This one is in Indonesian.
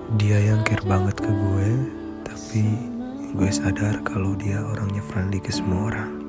Dia yang care banget ke gue, tapi gue sadar kalau dia orangnya friendly ke semua orang.